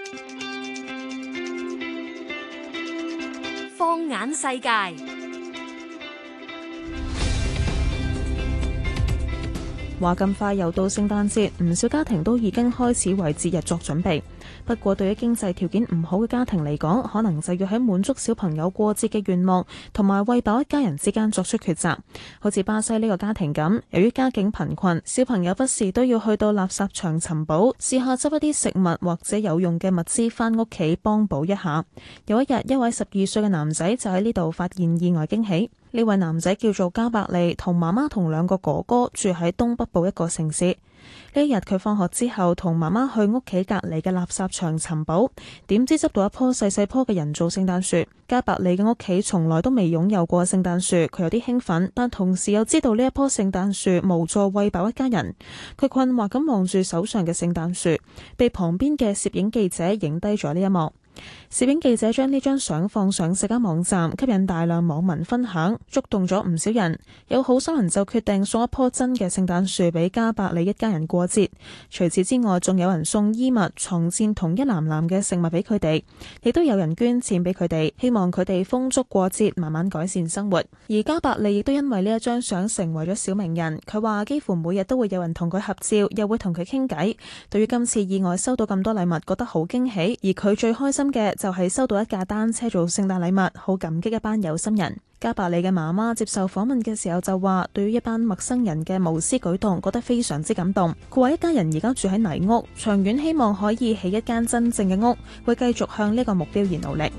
放眼世界。 話咁快又到聖誕節，唔少家庭都已經開始為節日作準備。不過對於經濟條件唔好嘅家庭嚟講，可能就要喺滿足小朋友過節嘅願望同埋餵飽一家人之間作出抉擇。好似巴西呢個家庭咁，由於家境貧困，小朋友不時都要去到垃圾場尋寶，試下執一啲食物或者有用嘅物資返屋企幫補一下。有一日，一位12歲嘅男仔就喺呢度發現意外驚喜。呢位男仔叫做加伯利，同媽媽同兩個哥哥住喺東北部一個城市。呢一日佢放學之後同媽媽去屋企隔離嘅垃圾場尋寶，點知執到一棵細細棵嘅人造聖誕樹。加伯利嘅屋企從來都未擁有過聖誕樹，佢有啲興奮，但同時又知道呢一棵聖誕樹無助餵飽一家人。佢困惑咁望住手上嘅聖誕樹，被旁邊嘅攝影記者影低咗呢一幕。攝影記者將呢張相放上社交網站，吸引大量網民分享，觸動咗唔少人。有好心人就決定送一棵真嘅聖誕樹俾加伯利一家人過節。除此之外，仲有人送衣物、床墊同一籃籃嘅食物俾佢哋，亦都有人捐錢俾佢哋，希望佢哋豐足過節，慢慢改善生活。而加伯利亦都因為呢一張相成為咗小名人。佢話幾乎每日都會有人同佢合照，又會同佢傾偈。對於今次意外收到咁多禮物，覺得好驚喜。而佢最開心嘅就係收到一架單車做聖誕禮物，好感激一班有心人。加伯利嘅媽媽接受訪問嘅時候就話，對於一班陌生人嘅無私舉動，覺得非常之感動。佢話一家人而家住喺泥屋，長遠希望可以起一間真正嘅屋，會繼續向呢個目標而努力。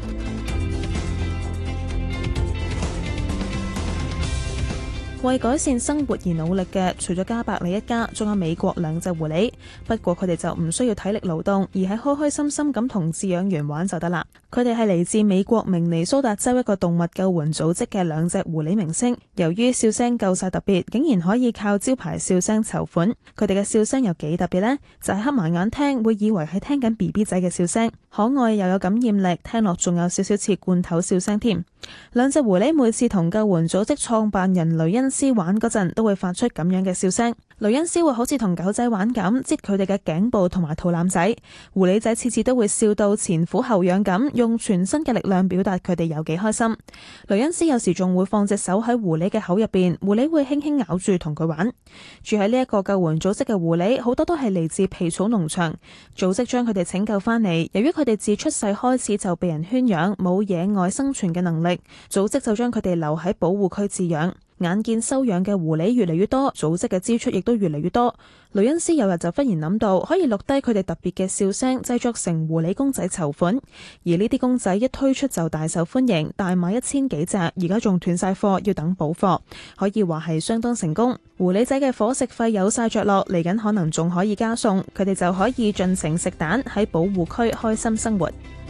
為改善生活而努力嘅，除咗加伯利一家，仲有美國兩隻狐狸。不過佢哋就唔需要體力勞動，而係開開心心咁同飼養員玩就得啦。佢哋係嚟自美國明尼蘇達州一個動物救援組織嘅兩隻狐狸明星。由於笑聲夠晒特別，竟然可以靠招牌笑聲籌款。佢哋嘅笑聲有幾特別呢？就係黑埋眼聽，會以為係聽緊 BB 仔嘅笑聲，可愛又有感染力，聽落仲有少少似罐頭笑聲添。兩隻狐狸每次同救援組織創辦人雷恩斯玩嗰陣，都會發出咁樣嘅笑聲。雷恩斯會好似同狗仔玩咁，擠佢哋嘅頸部同埋肚腩仔。狐狸仔次次都會笑到前俯後仰咁，用全身嘅力量表達佢哋有幾開心。雷恩斯有時仲會放隻手喺狐狸嘅口入邊，狐狸會輕輕咬住同佢玩。住喺呢一個救援組織嘅狐狸，好多都係嚟自皮草農場。組織將佢哋拯救翻嚟，由於佢哋自出世開始就被人圈養，冇野外生存嘅能力，組織就將佢哋留喺保護區飼養。眼見收養嘅狐狸越嚟越多，組織嘅支出亦都越嚟越多。雷恩斯有日就忽然諗到，可以錄低佢哋特別嘅笑聲，製作成狐狸公仔籌款。而呢啲公仔一推出就大受歡迎，大賣1000幾隻，而家仲斷晒貨，要等補貨，可以話係相當成功。狐狸仔嘅伙食費有晒着落，嚟緊可能仲可以加餸，佢哋就可以盡情食蛋，喺保護區開心生活。